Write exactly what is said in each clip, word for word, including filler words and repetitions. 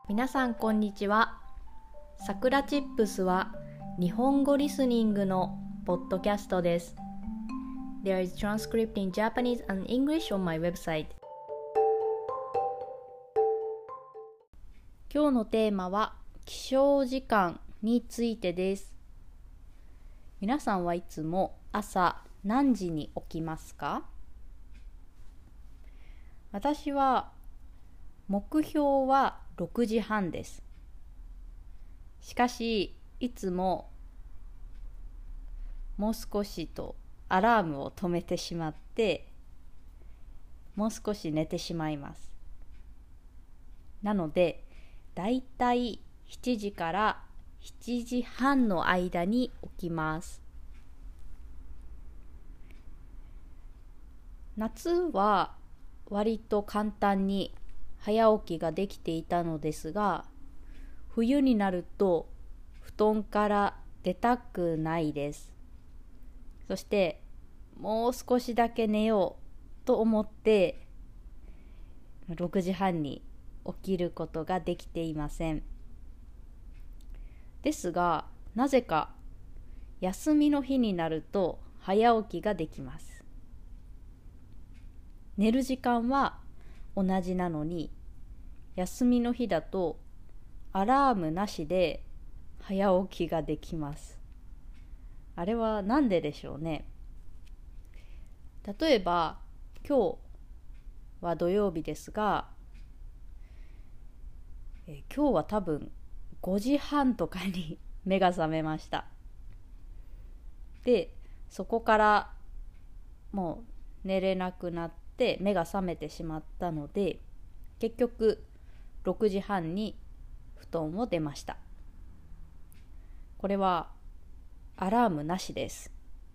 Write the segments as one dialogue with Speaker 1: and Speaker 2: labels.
Speaker 1: 皆さんこんにちは。さくらチップスは日本語リスニングのポッドキャストです。There is transcript in Japanese and English on my website. 今日のテーマは起床時間についてです。皆さんはいつも朝何時に起きますか？私は目標はろくじはんです。しかしいつももう少しとアラームを止めてしまってもう少し寝てしまいます。なのでだいたいしちじからしちじはんの間に起きます。夏は割と簡単に早起きができていたのですが、冬になると布団から出たくないです。そしてもう少しだけ寝ようと思ってろくじはんに起きることができていません。ですが、なぜか休みの日になると早起きができます。寝る時間は同じなのに、休みの日だとアラームなしで早起きができます。あれはなんででしょうね。例えば今日は土曜日ですが、え今日は多分ごじはんとかに目が覚めました。で、そこからもう寝れなくなって目が覚めてしまったので、結局ろくじはんに布団を出ました。これはアラームなしです。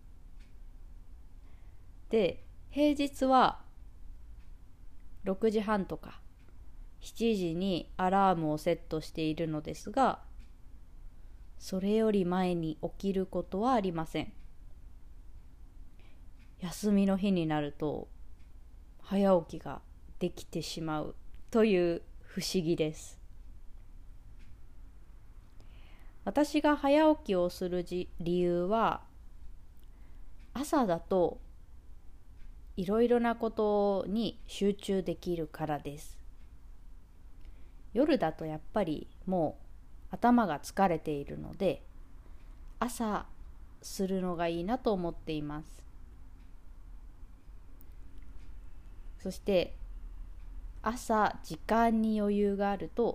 Speaker 1: で、平日はろくじはんとかしちじにアラームをセットしているのですが、それより前に起きることはありません。休みの日になると早起きができてしまうという不思議です。私が早起きをする理由は、朝だといろいろなことに集中できるからです。夜だとやっぱりもう頭が疲れているので、朝するのがいいなと思っています。そして朝時間に余裕があると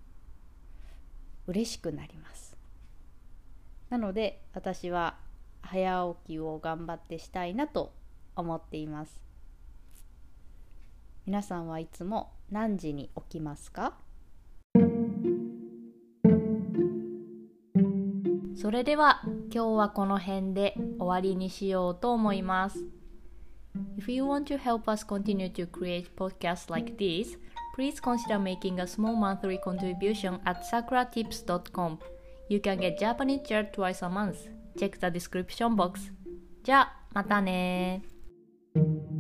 Speaker 1: 嬉しくなります。なので私は早起きを頑張ってしたいなと思っています。皆さんはいつも何時に起きますか？それでは今日はこの辺で終わりにしようと思います。If you want to help us continue to create podcasts like this, please consider making a small monthly contribution at sakura tips dot com. You can get Japanese chair twice a month. Check the description box. じゃあ、またね。